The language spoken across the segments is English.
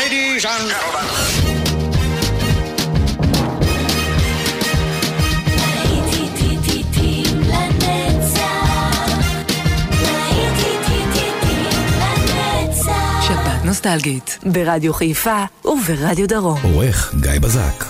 Ladies and gentlemen. שבת נוסטלגית ברדיו חיפה וברדיו דרום. עורך גיא בזק.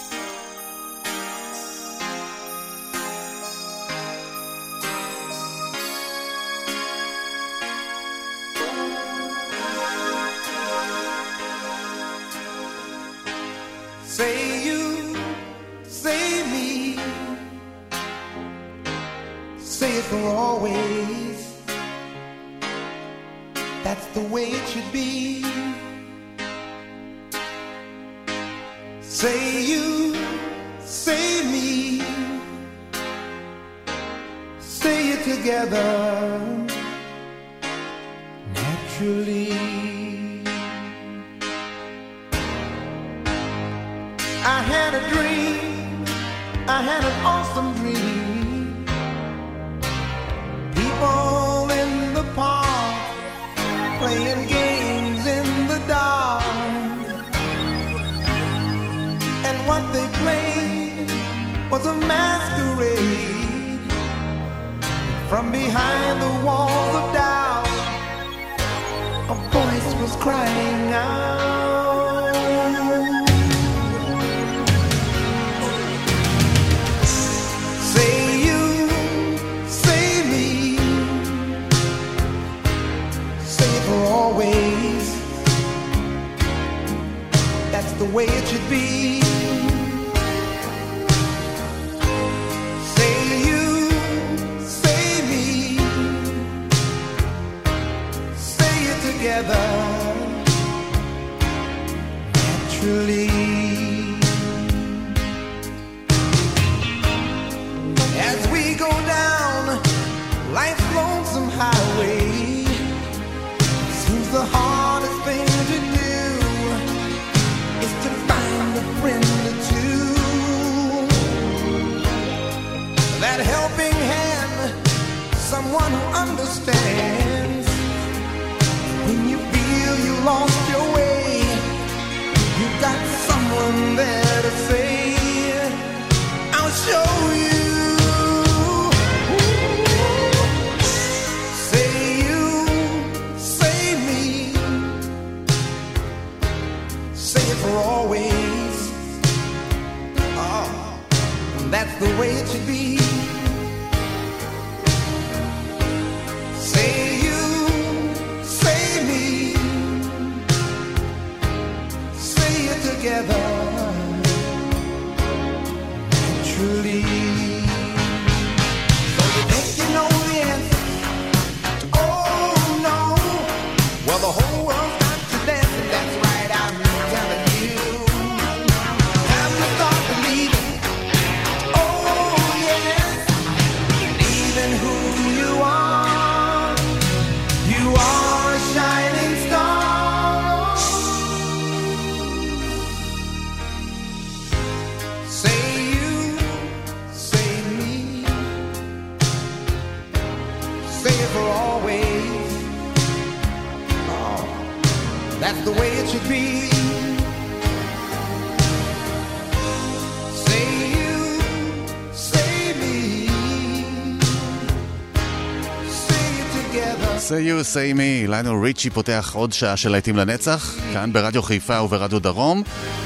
Say You, Say Me, ליונל ריצ'י פותח עוד שעה של להיטים לנצח, כאן ברדיו חיפה וברדיו דרום,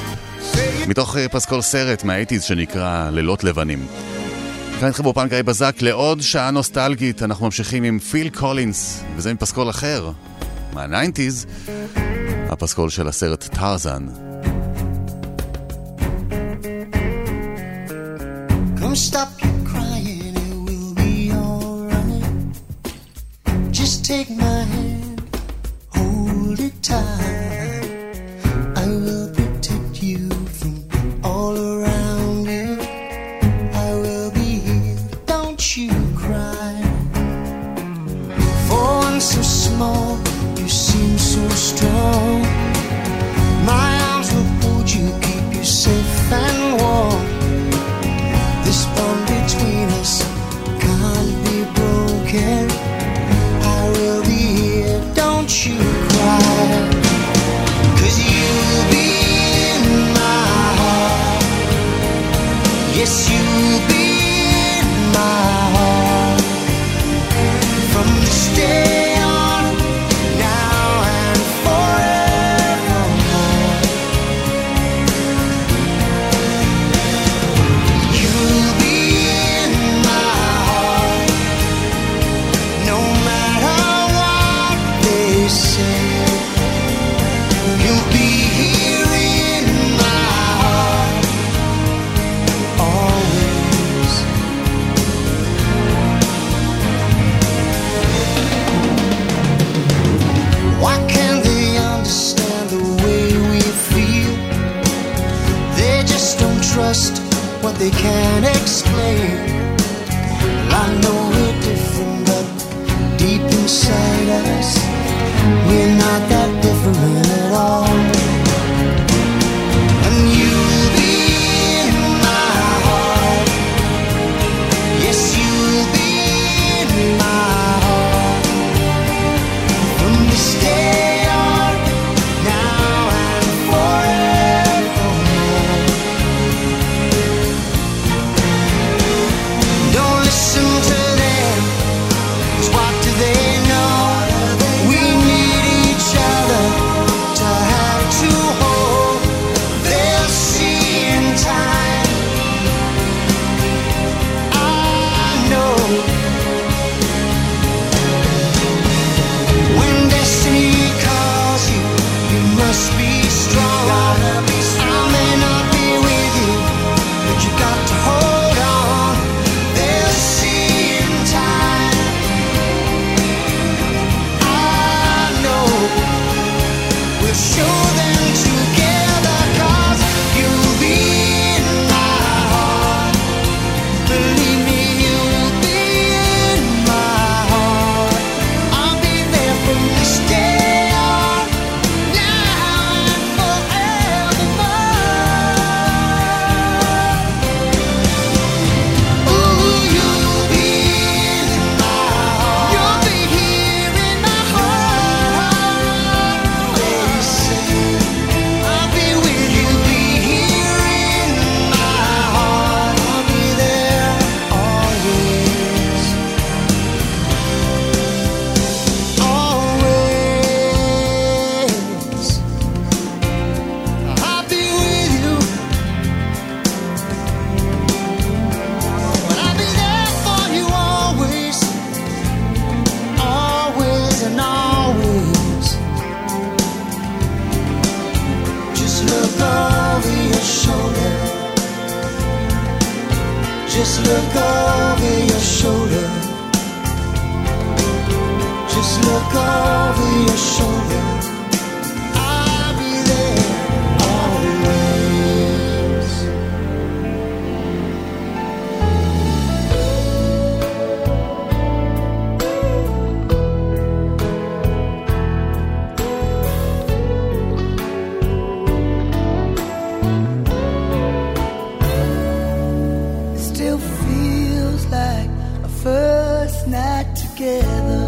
מתוך פסקול סרט מה-80s שנקרא לילות לבנים. כאן איתכם באופן גיא בזק לעוד שעה נוסטלגית, אנחנו ממשיכים עם פיל קולינס, וזה מפסקול אחר, מה-90s, הפסקול של הסרט טרזן. Come stop your crying, it will be alright. Just take my hand, hold it tight. I will protect you from all around you. I will be here, don't you cry. For one so small, you seem so strong. My arms will hold you, keep you safe and warm. This bond between us can't be broken. I will be here, don't you cry. they can't explain. Well, I know we're different, but deep inside us, we're not that different at all. And you'll be in my heart. Yes, you'll be in my heart. From this day on, now and forevermore. Don't listen to them, 'cause what do they know? We need each other to have to hold. They'll see in time. I know when destiny calls you, you must be strong. I may not be with you, but you got to hold on. They'll see in time. I know we'll show them together, 'cause you'll be in my heart. Believe me, you'll be in my heart. I'll be there from this day on, now and forevermore. Ooh, you'll be in my heart. You'll be here in my heart. They say I'll be with you, be here in my heart. I'll be there always, always. I'll be with you, but I'll be there for you always, always and always. Just look over your shoulder. Just look over your shoulder. Just look over your shoulder. I'll be there always. It still feels like a first night together.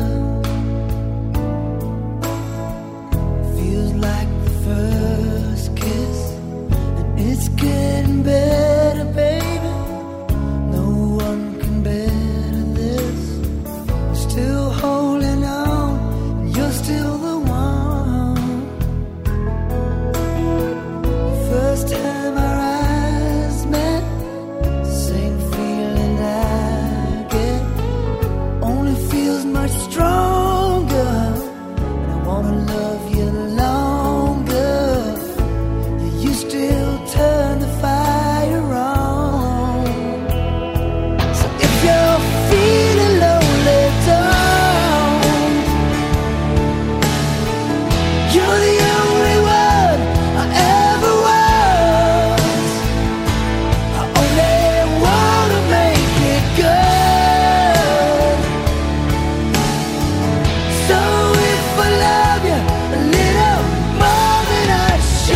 Feels like the first kiss, and it's getting better, baby. No one can better this. We're still holding on, and you're still the one. First time our eyes met, same feeling I get, only feels much stronger. And I wanna love you longer. You still turn the fire on. So if you're feeling lonely, don't. You're the only one I ever was. I only wanna make it good. So if I love you a little more than I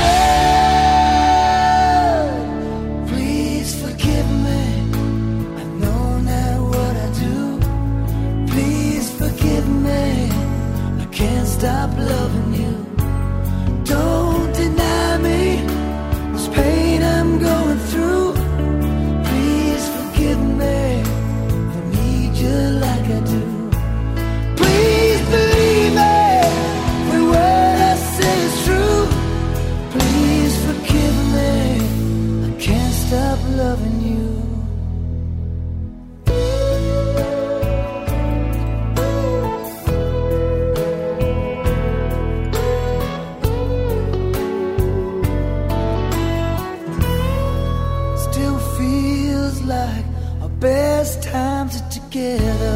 should, please forgive me. I know not what I do. Please forgive me. I can't stop loving you. Don't deny me this pain I'm going through. Please forgive me. I need you like I do. Please believe me. Every word I say is true. Please forgive me. I can't stop loving you. Still feels like our best times are together.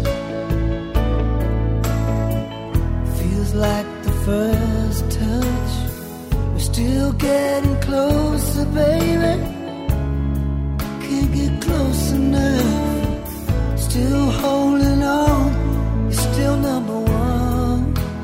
Feels like the first touch. We're still getting closer, baby. get close enough. Still holding on, you're still number one.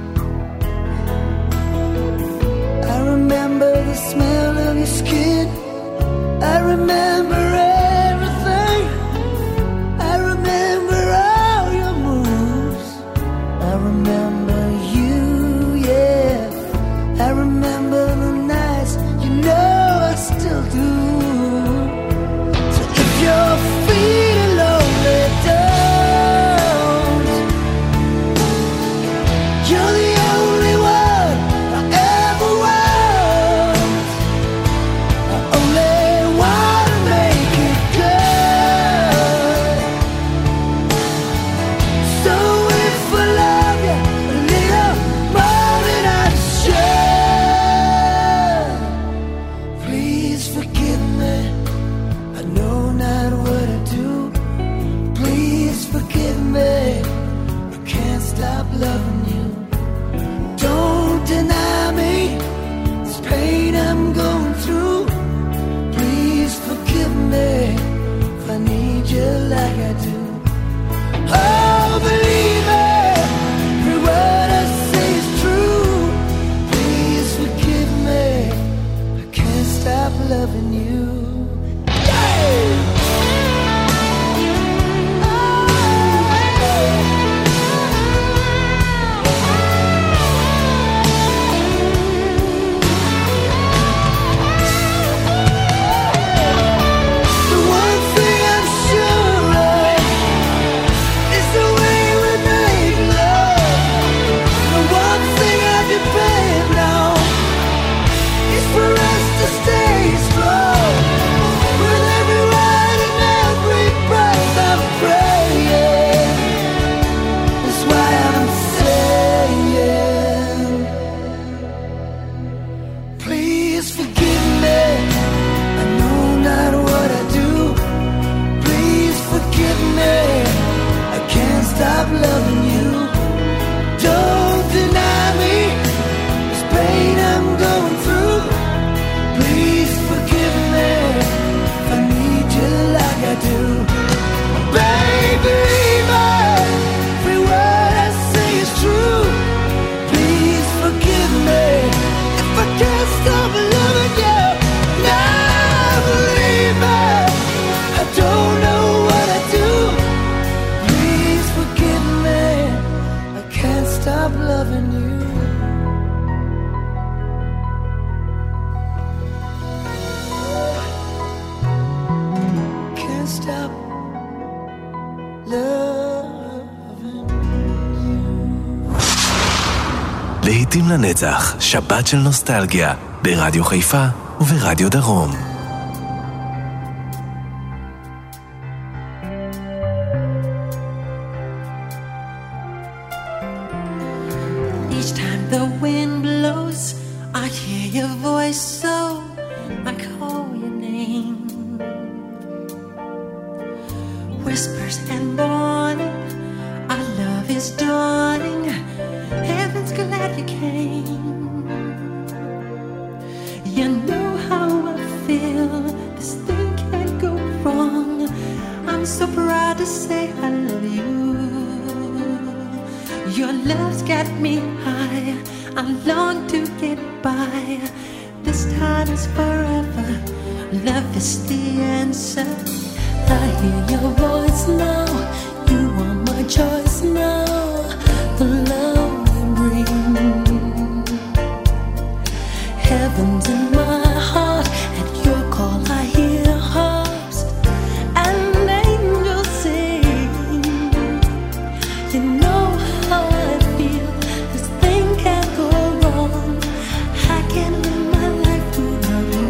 I remember the smell of your skin. I remember everything. I remember all your moves. I remember you, yeah. I remember the nights, you know I still do. So if you're feeling lonely, don't. You're the only one I ever want. I only want to make it good. So if I love you a little more than I should, please forgive me. I know not what I do. Please forgive me. I can't stop loving you. Don't deny me this pain I'm going through. Please forgive me if I need you like I do. Oh, believe me, every word I say is true. Please forgive me. I can't stop loving you. The one thing I'm sure of is the way we make love. The one thing I depend on is for us to stay strong. With every word and every breath I'm praying. That's why I'm saying, please forgive me. I know not what I do. Please forgive me. I can't stop loving you. Don't deny me this pain I'm going through. Please forgive me if I need you like I do. Baby, every word I say is true. Please forgive me if I can't stop loving you. Now believe me, I don't know what I do. Please forgive me, I can't stop loving you. Can't stop loving you. להיטים לנצח, שבת של נוסטלגיה, ברדיו חיפה וברדיו דרום. Each time the wind blows, I hear your voice, so I call your name. Whispers and warning, our love is dawning. Heaven's glad you came. You know how I feel, this thing can't go wrong. I'm so proud to say I love you. Your love's got me high, I long to get by. This time is forever, love is the answer. I hear your voice now, you are my choice now. The love you bring, heaven's in my heart. At your call I hear harps and angels sing. You know how I feel, this thing can't go wrong. I can't live my life without you.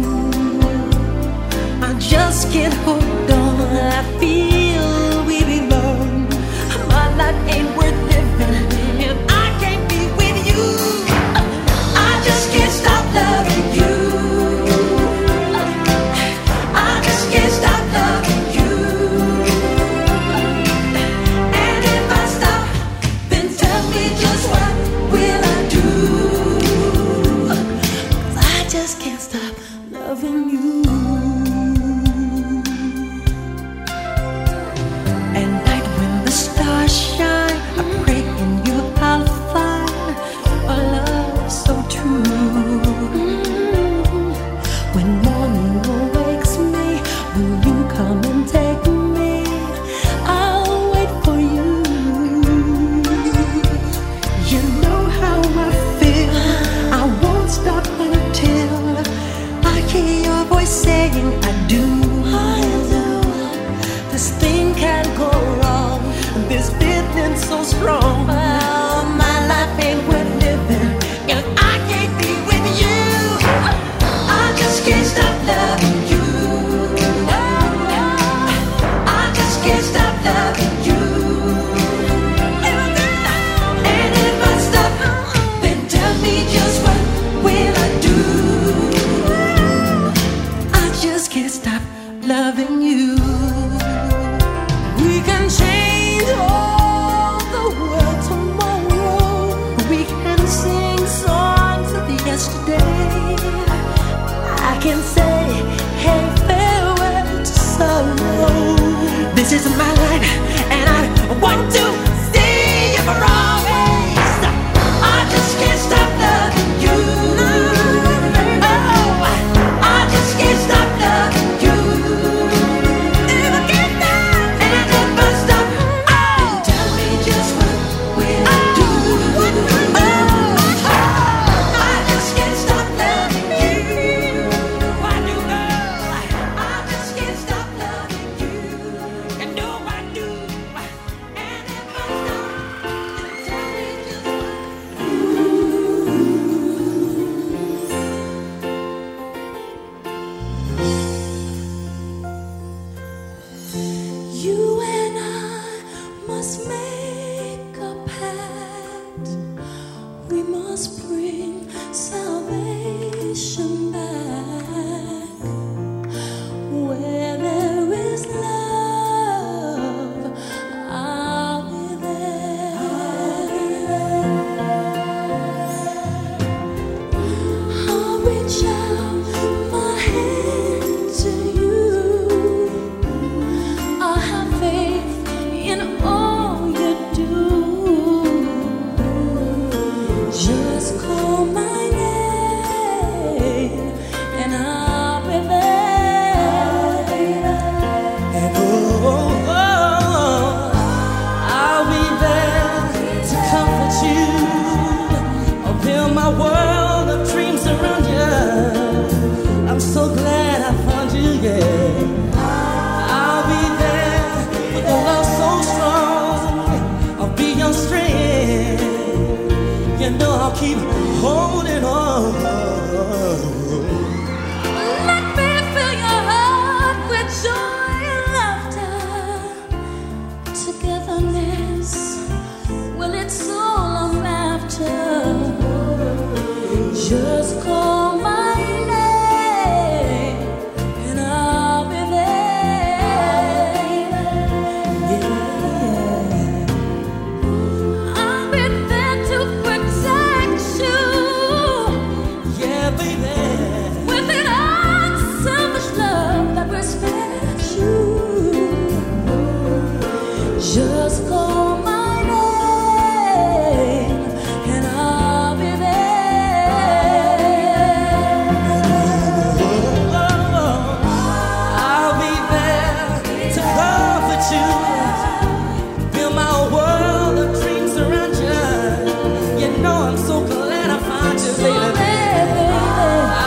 I just can't hold on, I feel we belong. My life ain't worth living if I can't be with you. I just can't stop loving you. I just can't stop loving you. And if I stop, then tell me just what will I do? 'Cause I just can't stop loving you. everything I do. This thing can't go wrong. This feeling so strong. Well, my life ain't worth living if I can't be with you. I just can't stop loving you. I just can't stop loving you. And if I stop, then tell me just what will I do? I just can't stop loving you. We can change all the world tomorrow. We can sing songs of yesterday. I can say, hey, farewell to sorrow. This is my life, and I want to stay here for always. I just can't stop loving you. Oh, I just can't stop loving you. If I can't stop, and if I stop, oh, tell me just what will I do? Oh, I just can't stop loving you. I do, girl. I just can't stop loving you. And no, I do. And if I stop, then tell me just what. You and I must make a pact. We must bring salvation back. Where there is love, I'll be there. I'll reach out my hand to you. I have faith in all you do. Just call my name and I'll be there. And I'll be there to comfort you. I'll build my world of dreams around you. I'm so glad I found you, yeah. I'll be there with a love so strong. I'll be your strength. You know I'll keep holding on. Let me fill your heart with joy and laughter. Togetherness, well, it's all I'm after. Just call my name and I'll be there. Yeah. I'll be there to protect you. Yeah, baby. With an unselfish love that respects you. Just call my name and I'll be there. I'll be there to comfort you. Build my world of dreams around you. You know I'm so glad I found you, baby.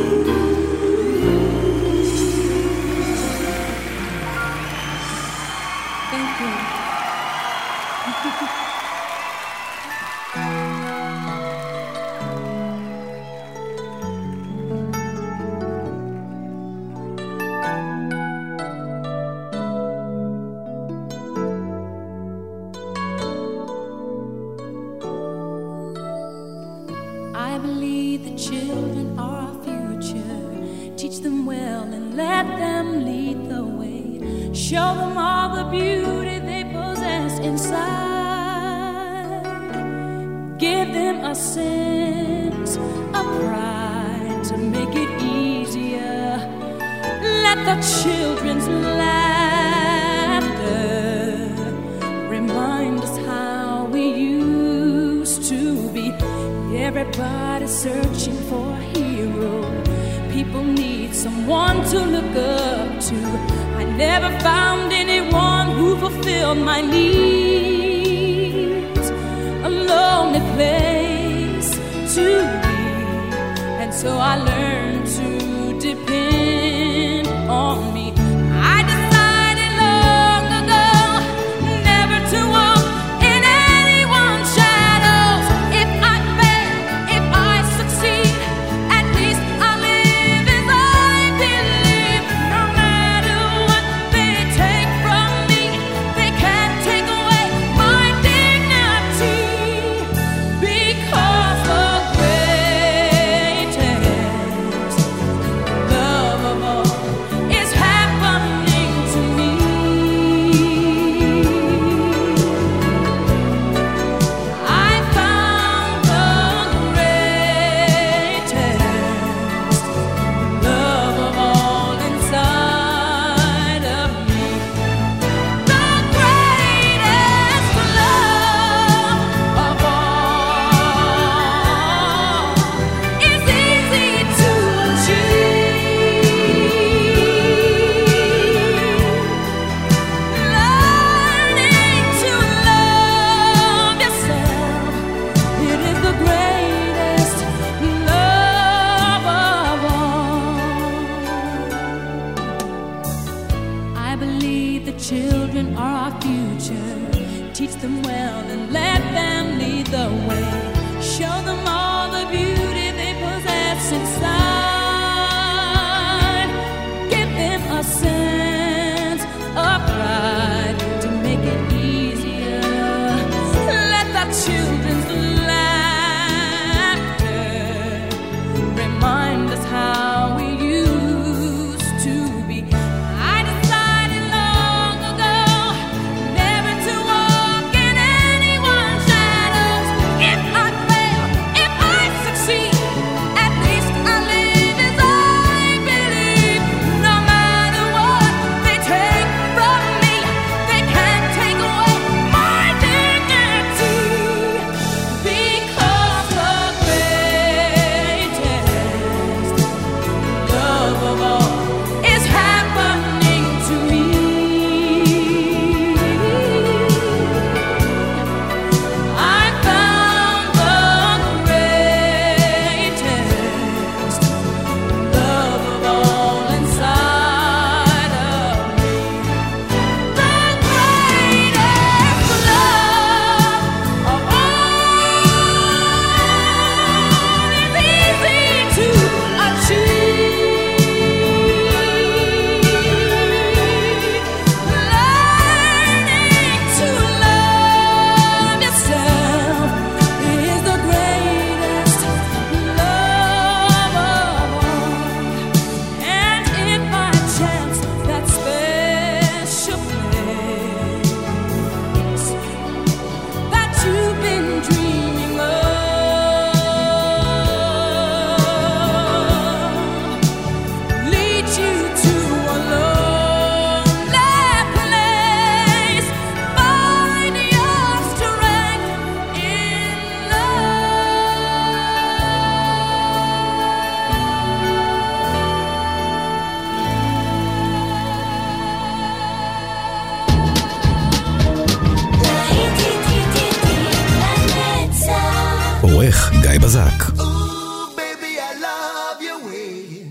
עורך גיא בזק. Baby, I love your way.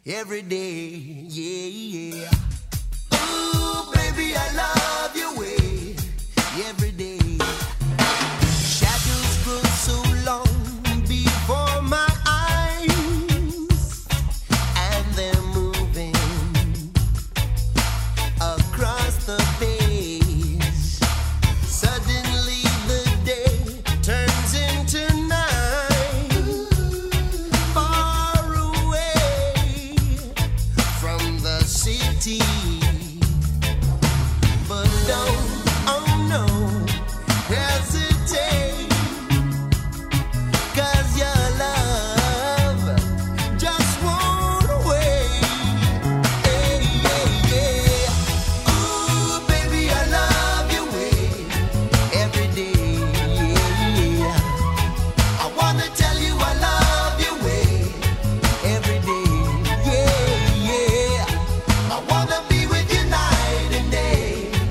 every day, yeah, yeah. Ooh, baby, I love your way every day. Shadows grow so long before my eyes, and they're moving across the page. Suddenly the day turns into night, far away from the city. But don't, oh no, hesitate, 'cause your love just won't wait. Hey, yeah, yeah. Ooh, baby, I love your way every day, yeah. I wanna tell you I love your way every day, yeah, yeah. I wanna be with you night and day.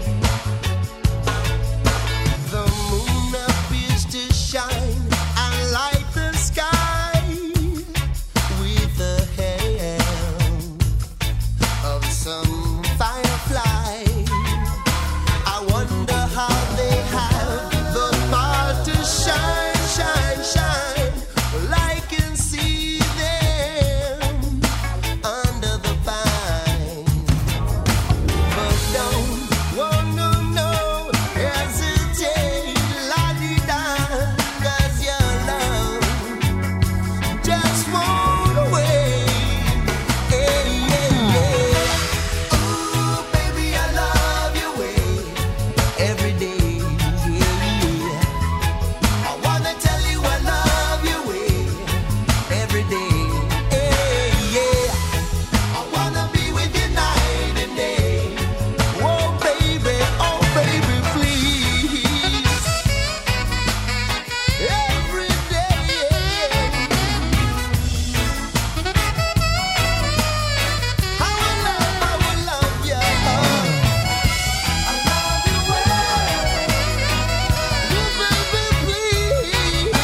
The moon appears to shine and light the sky with the help of some firefly. I wonder how they have the power to shine, shine, shine. Well, I can see them under the pine. But don't, oh no, no, hesitate, la-di-da, 'cause your love just won't wait. Hey, yeah, yeah. Ooh, baby, I love your way every day, yeah. I wanna tell you I love your way every day, hey, yeah. I wanna be with you night and day. Oh baby, please. Every day. I will love you. I love you well. Oh baby, please.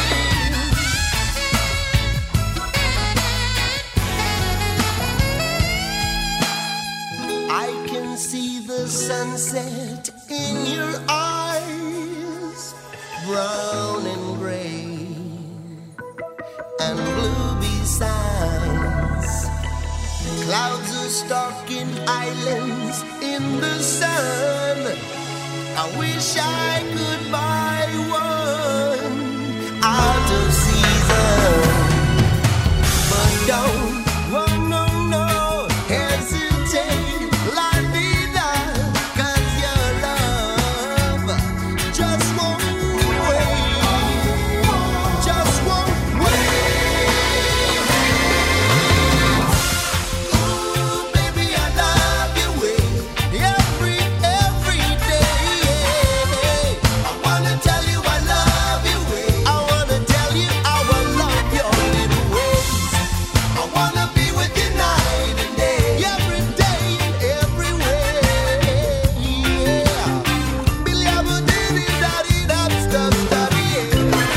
I can see the sunset in your eyes, brown and gray and blue besides. Clouds are stalking islands in the sun. I wish I could buy one out of season. But don't, oh no, no, hesitate, la-di-da, 'cause your love just won't wait, just won't wait. Ooh, baby, I love your way every day, yeah. I wanna tell you I love your way. I wanna tell you how I love your little ways. I wanna be with you night and day, every day and everywhere, yeah. Billy, I would did-it-da-dee-da, stuff-da-dee, yeah.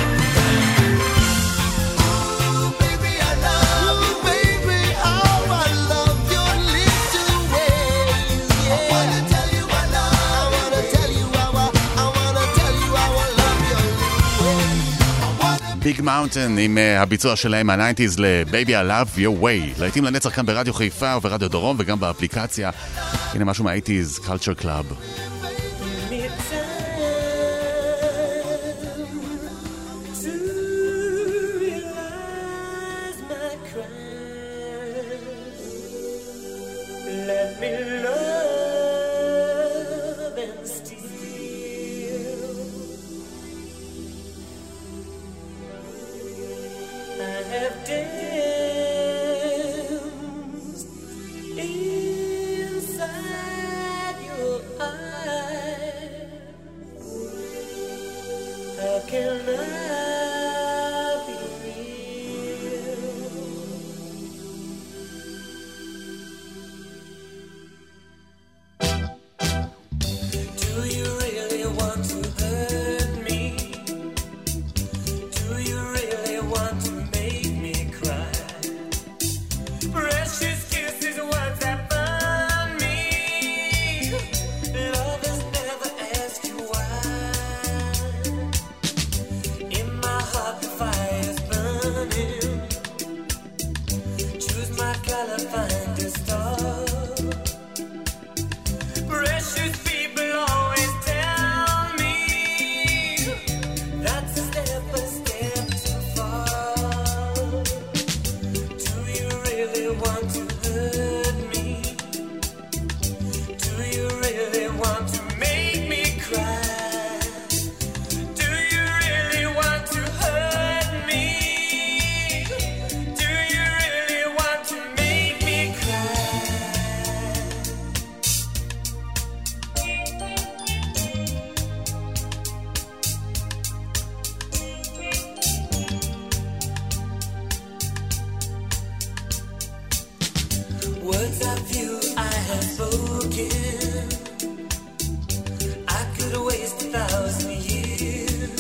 Ooh, baby, I love you, baby, how I love your little ways, yeah. I wanna tell you I love, I wanna tell you how I wanna tell you how I love your little ways. I wanna ביג מאונטן עם הביצוע שלהם מה-90s ל-Baby I Love Your Way. להיטים לנצח כאן ברדיו חיפה וברדיו דרום וגם באפליקציה. הנה משהו מה-80s, Culture Club. Let me love and steal. I have danced inside your eyes. How can I be real? shall I find a star? Precious people always tell me that's a step too far. Do you really want to hurt me? Do you really want to make me cry? Do you really want to hurt me? Do you really want to make me cry? Words of you I have spoken, I could waste 1,000 years.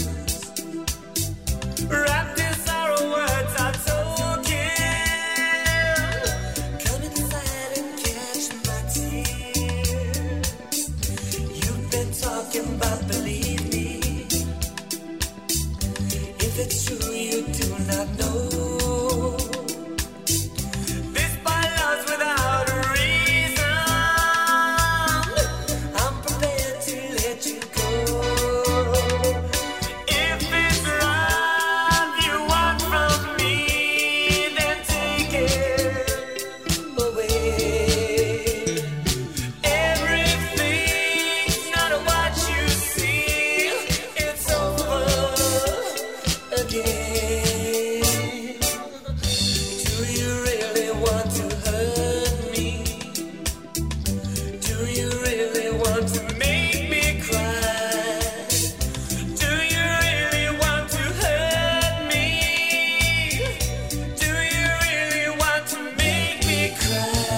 Wrapped in sorrow, words are token. Come inside and catch my tears. You've been talking about believe me. If it's true, you do not know. This by love's without a reason. I'm prepared to let you go. If it's love you want from me, then take it away. Everything's not what you see. It's over again. Do you really want to hurt me? Do you really want to make me cry? Do you really want to hurt me? Do you really want to make me cry?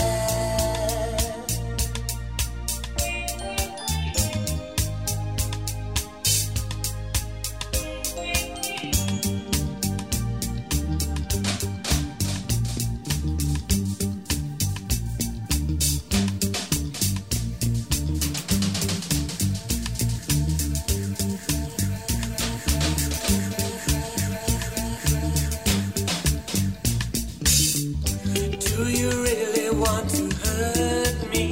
Do you really want to hurt me?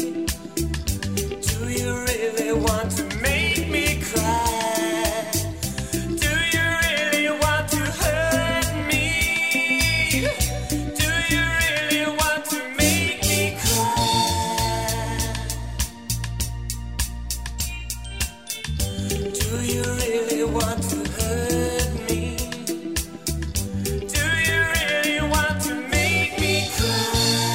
Do you really want to make me cry? Do you really want to hurt me? Do you really want to make me cry? Do you really want to hurt me? Do you really want to make me cry?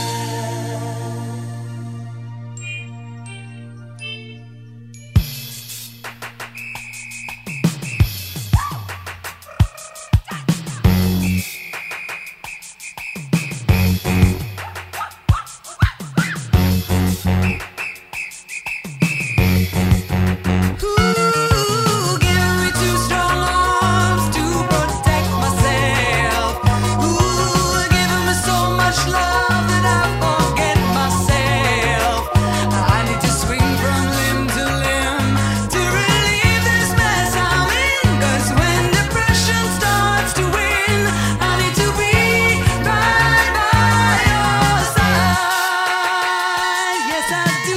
Ooh, give me 2 strong arms to protect myself. Ooh, giving me so much love that I forget myself. I need to swing from limb to limb to relieve this mess I'm in. 'Cause when depression starts to win, I need to be right by your side. Yes, I do.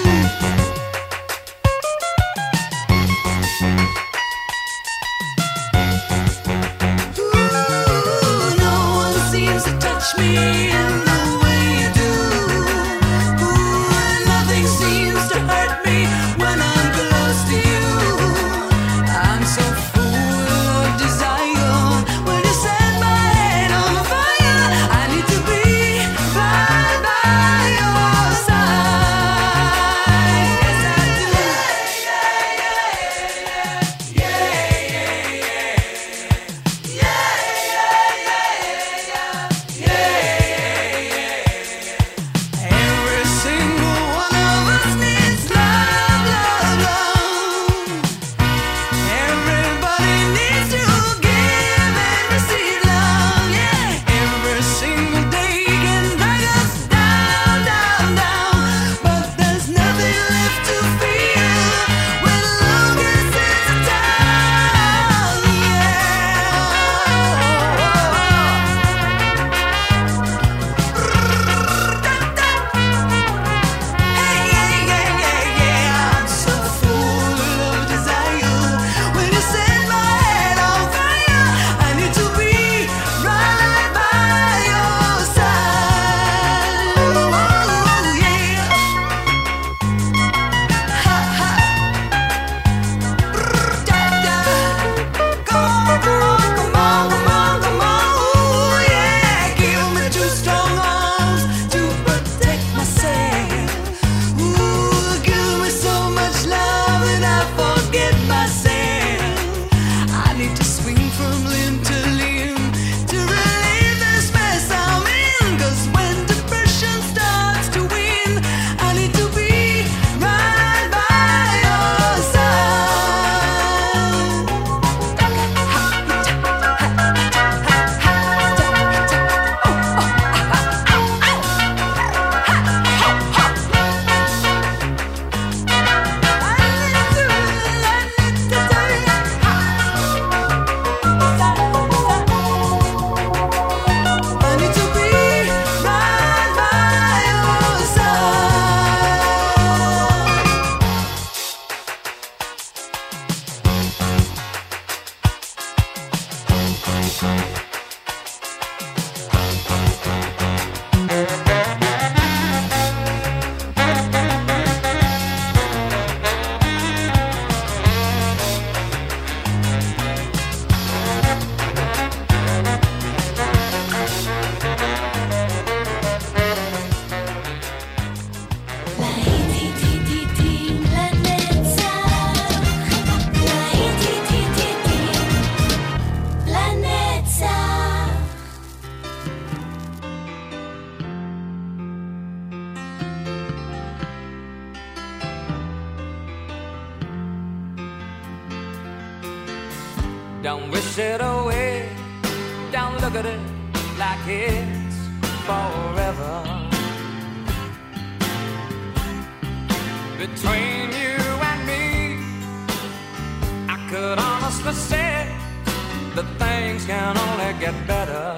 Ooh, no one seems to touch me in the way Don't wish it away. Don't look at it like it's forever. Between you and me, I could honestly say that things can only get better.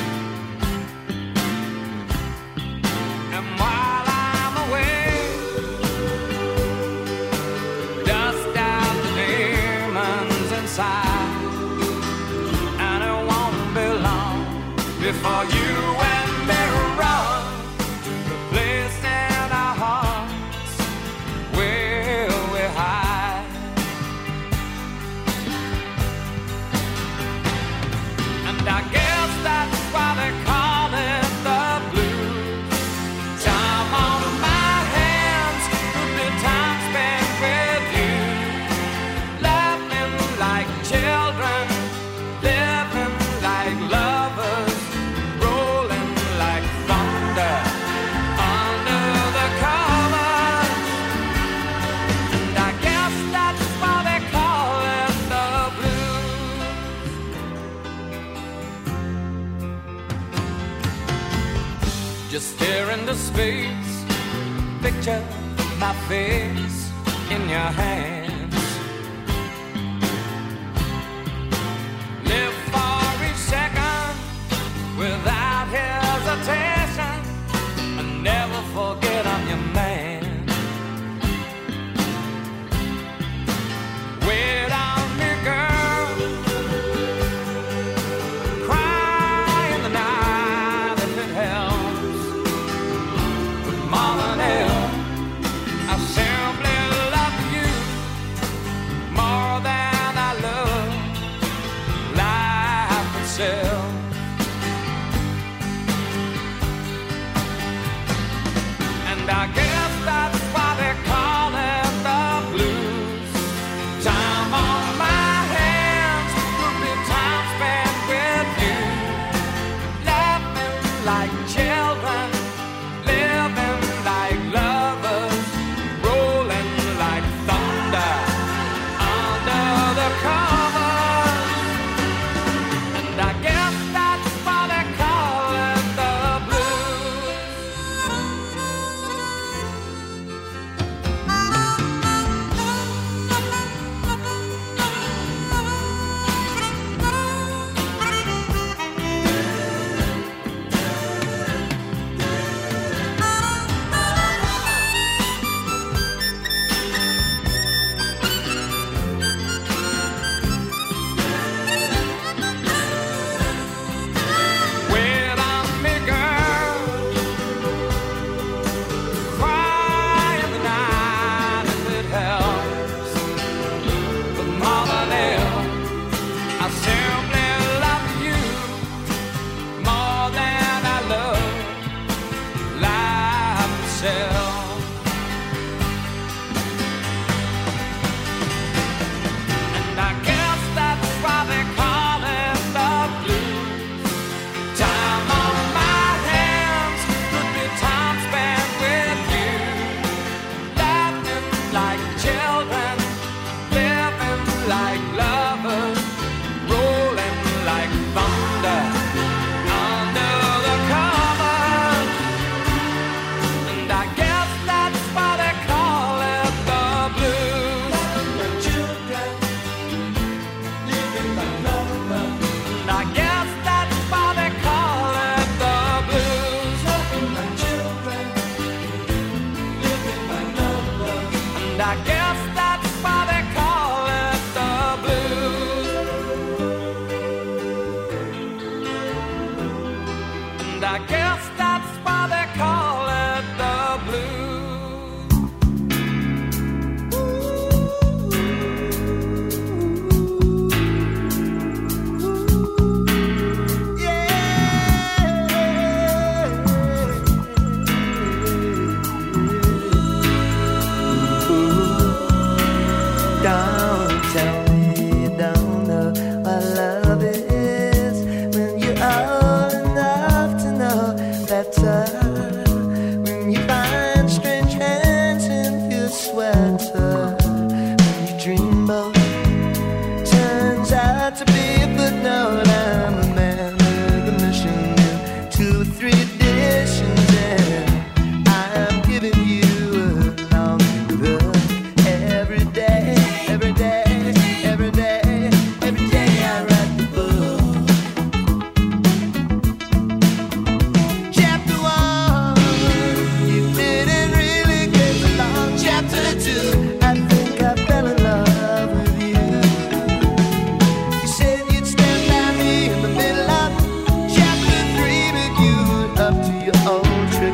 And while I'm away, dust out the demons inside, and it won't be long before you and me run to the place in our hearts where we hide. And I guess that's why they call it the blues. Time on my hands could be time spent with you, laughing like children, living like lovers, rolling like thunder under the covers. And I guess that's why they call it the blues. Just stare into space, picture my face in your hands. Live for each second without hesitation, and never forget I'm your man. Wait on me, girl. Cry in the night if it helps. But more than ever, I simply love you more than I love life itself. And I guess that's why they call it the blues. Time on my hands could be time spent with you, laughing like children, living like lovers, rolling like thunder under the covers. And I guess that's why they call it the blues. Wait on me, girl. Cry in the night if it helps. But more than ever, I simply love you more than I love life itself. And I guess that's why they call it the blues. Time on my hands could be time spent with you, laughing like children, living like lovers, rolling like thunder under the covers. And I guess that's why they call it the blues. Children living like lovers. And I guess that's why they call it the blues. Children living like lovers. And I guess that's why they call it the blues. And I guess that's why they call it the blues. Yeah.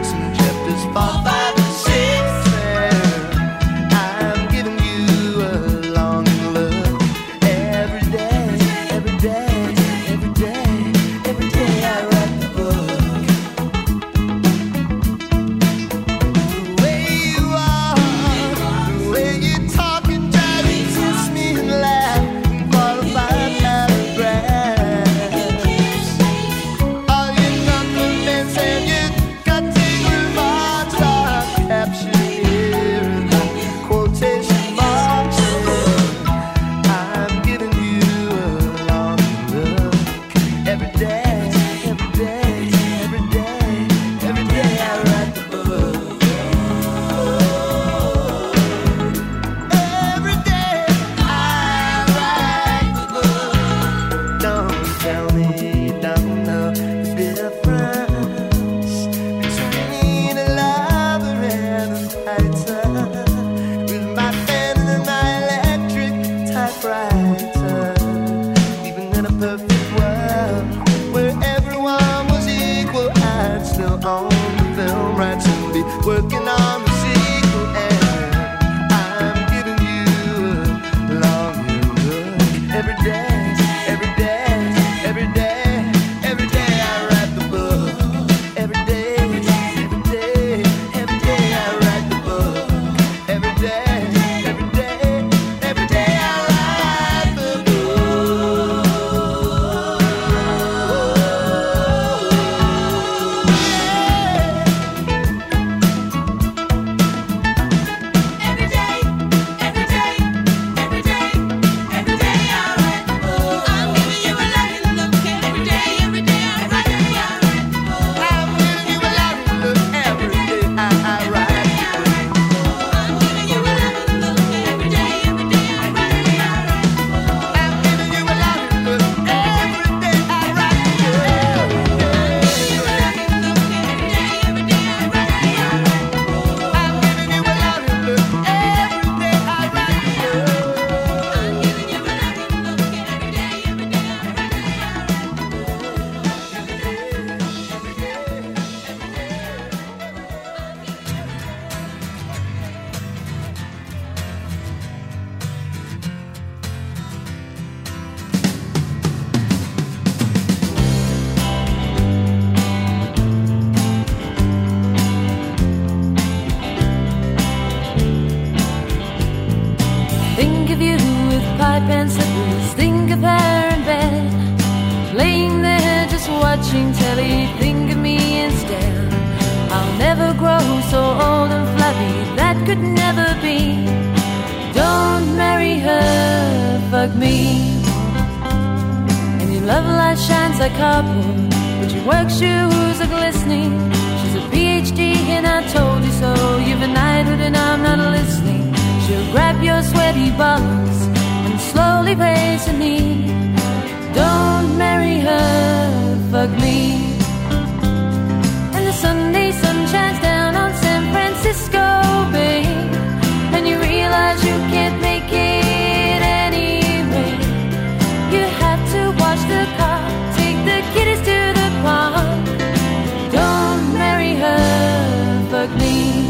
books and chapters 4, 5, and 6. And I'm giving you a long look every day, every day, every day, every day I write the book. The way you are, the way you talk and try to kiss me and laugh and qualify paragraphs. All your compliments and your cutting remarks are captured here in the quotation marks. I'm giving you a long look every day, every day, every day, every day I write the book. Every day I write the book. Don't tell me you don't know the difference between a lover and a fighter. With my pen and my electric typewriter. Even in a perfect world where everyone was equal, I'd still own the film rights and be working on the sequel. And I'm giving you a long look every day, every day, every day, every day I write the book. Every day, every day, every day I write the book. Every day, every day, every day I write the book. Every day, every day, every day, every day I write the book. I'm giving you a loving look every day I write the book. I'm giving you a loving look every day I write the book. I'm giving you a loving look every day I write the book. I'm giving you a loving look every day I write the book. I'm giving you a loving look every day I write the Think of you with pipe and slippers, think of her in bed, laying there just watching telly, think of me instead. I'll never grow so old and flabby, that could never be. Don't marry her, fuck me. And your love light shines like cardboard, but your work shoes are glistening. She's a PhD and I told you so, you've a knighthood and I'm not listening. She'll grab your sweaty bottoms and slowly raise her knee. Don't marry her, fuck me. And the Sunday sun shines down on San Francisco Bay, and you realize you can't make it anyway. You have to wash the car, take the kiddies to the park. Don't marry her, fuck me.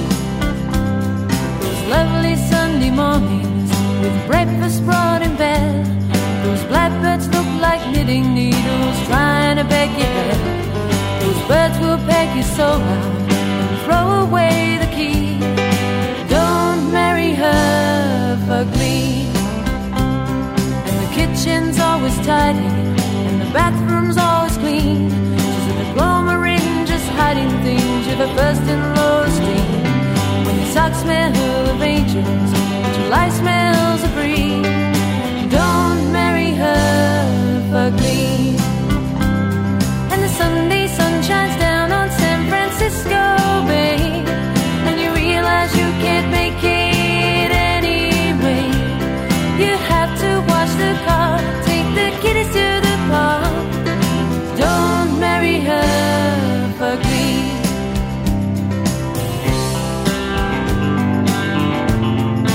Lovely Sunday mornings with breakfast brought in bed. Those blackbirds look like knitting needles trying to peck your head. Those birds will peck your soul out and throw away the key. Don't marry her, fuck me. And the kitchen's always tidy and the bathroom's always clean. She's a diploma ring just hiding things you've a first-in-law esteem. When your socks smell of angels, July smells of breeze. Don't marry her, fuck me. And the Sunday sun shines down on San Francisco Bay, and you realize you can't make it anyway. You have to wash the car, take the kiddies to the park. Don't marry her, fuck me.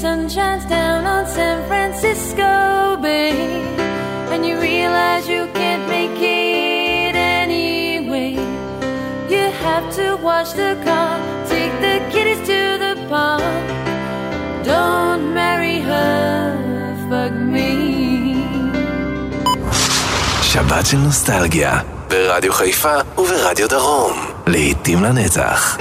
sun shines down on San Francisco Bay, and you realize you can't make it anyway. You have to wash the car, take the kiddies to the park. Don't marry her, fuck me. שבת של נוסטלגיה, ברדיו חיפה וברדיו דרום. לעתים לנצח.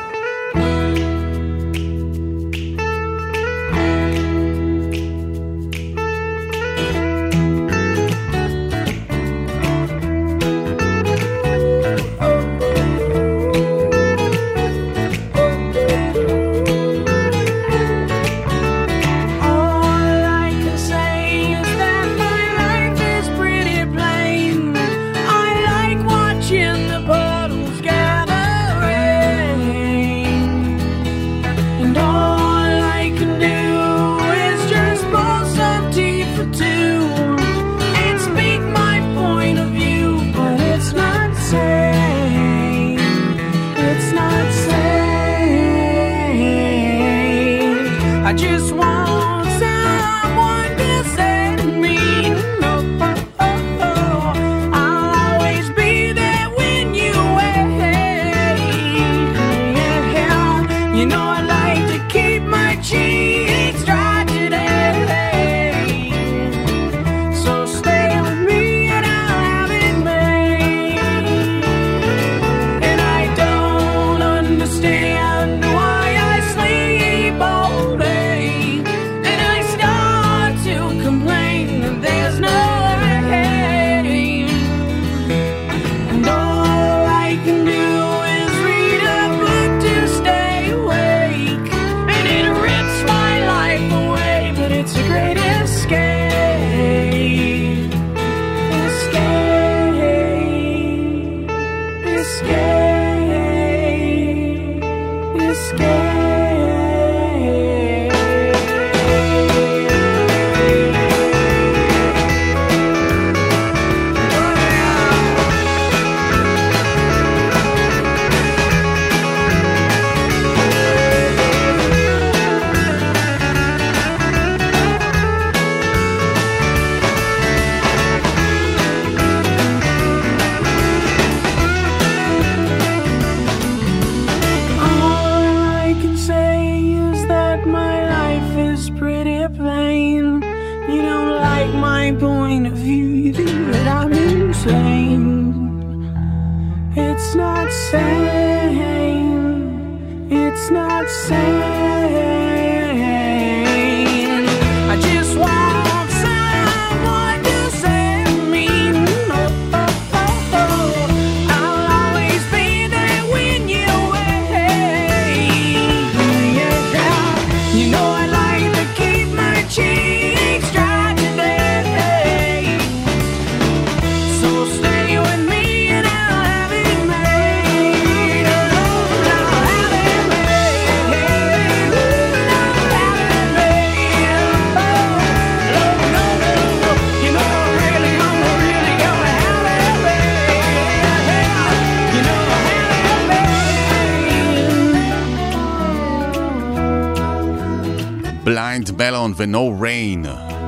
בליינד מלון ו-No Rain.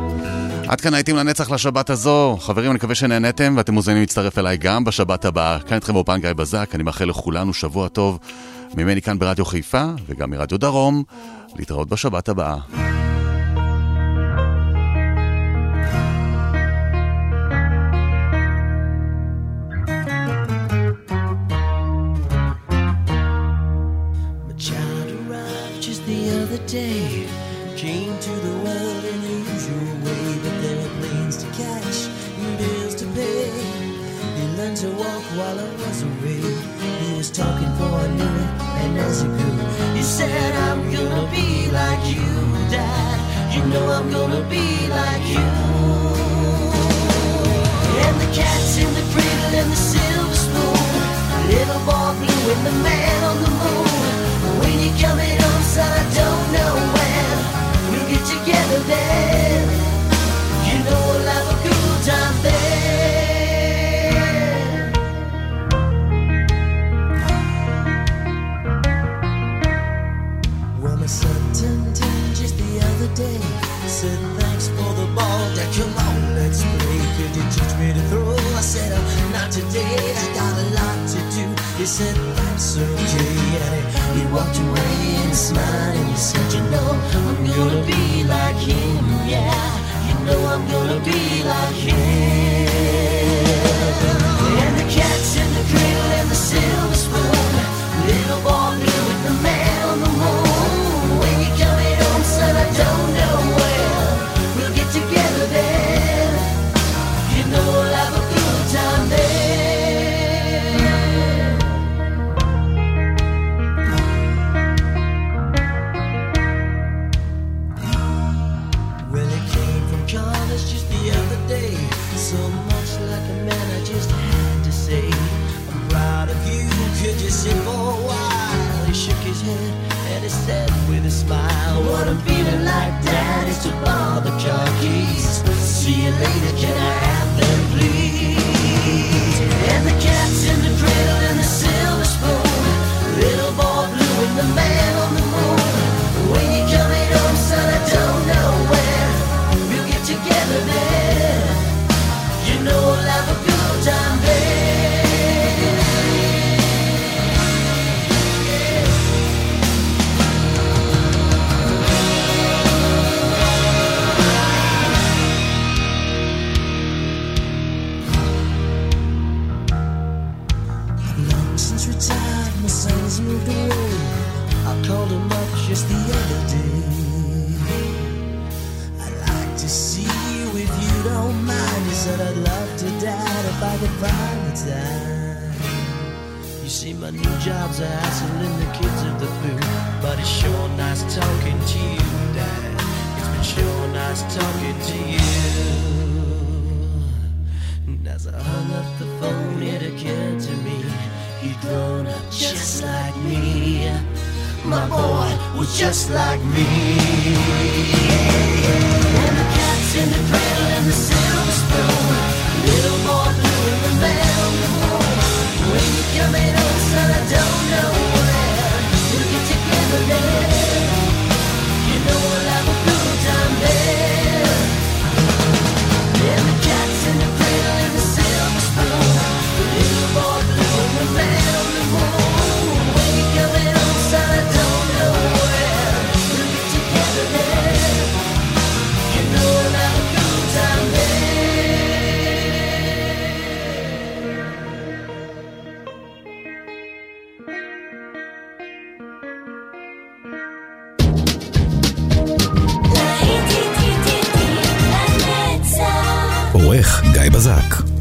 עד כאן הייתם לנצח לשבת הזו. חברים, אני מקווה שנהנתם ואתם מוזמנים להצטרף אליי גם בשבת הבאה. כאן איתכם באופן גיא בזק, אני מאחל לכולנו שבוע טוב ממני כאן ברדיו חיפה וגם מרדיו דרום. להתראות בשבת הבאה. Day came to the world in the usual way, but there were planes to catch and bills to pay. He learned to walk while I was away. He was talking for I knew it, and as he grew, he said, I'm gonna be like you, Dad. You know I'm gonna be like you. And the cat's in the cradle and the silver spoon, little boy blue and the man on the moon. When you're coming home, son, I don't know when we'll get together then. You know we'll have a good time then. Well, my son turned 10 just the other today, I got a lot to do. He said, that's okay. And he walked away and smiled and he said, you know, I'm gonna be like him, yeah. You know I'm gonna be like him. And the cat's in the cradle and the silver spoon. Little boy blue with the man on the moon. When you're coming home, son, I don't know where. We'll get together there. You know we'll have a good time there. Well, it came from college just the other day. So much like a man, I just had to say, I'm proud of you, could you sit for a while? He shook his head and he said with a smile, what I'm feeling like, Dad, is to borrow the car keys. See you later, can I have them, please? And the cat's in the cradle and the silver spoon. Little boy blue and the man on the moon. When you're coming home, son, I don't know where. We'll get together there. You know we'll have a good time there. Long since retired, my son's moved away. I called him up just the other day. I'd like to see you if you don't mind. He said I'd love to, Dad, if I could find the time. You see, my new job's a hassle and the kids are the food, but it's sure nice talking to you, Dad. It's been sure nice talking to you. And as I hung up the phone, it occurred to me, he'd grown up just like me. My boy was just like me. And the cat's in the cradle and the silver spoon. Little boy blue and the man on the moon. When you're coming home, son, I don't know where. We'll get together there. You know we'll have a good time there. And the cat's in the cradle and the silver spoon. Little boy blue and the man on the moon. When you're coming home, son, I don't know where. We'll get together there. You know we'll have a good time there. עורך גיא בזק.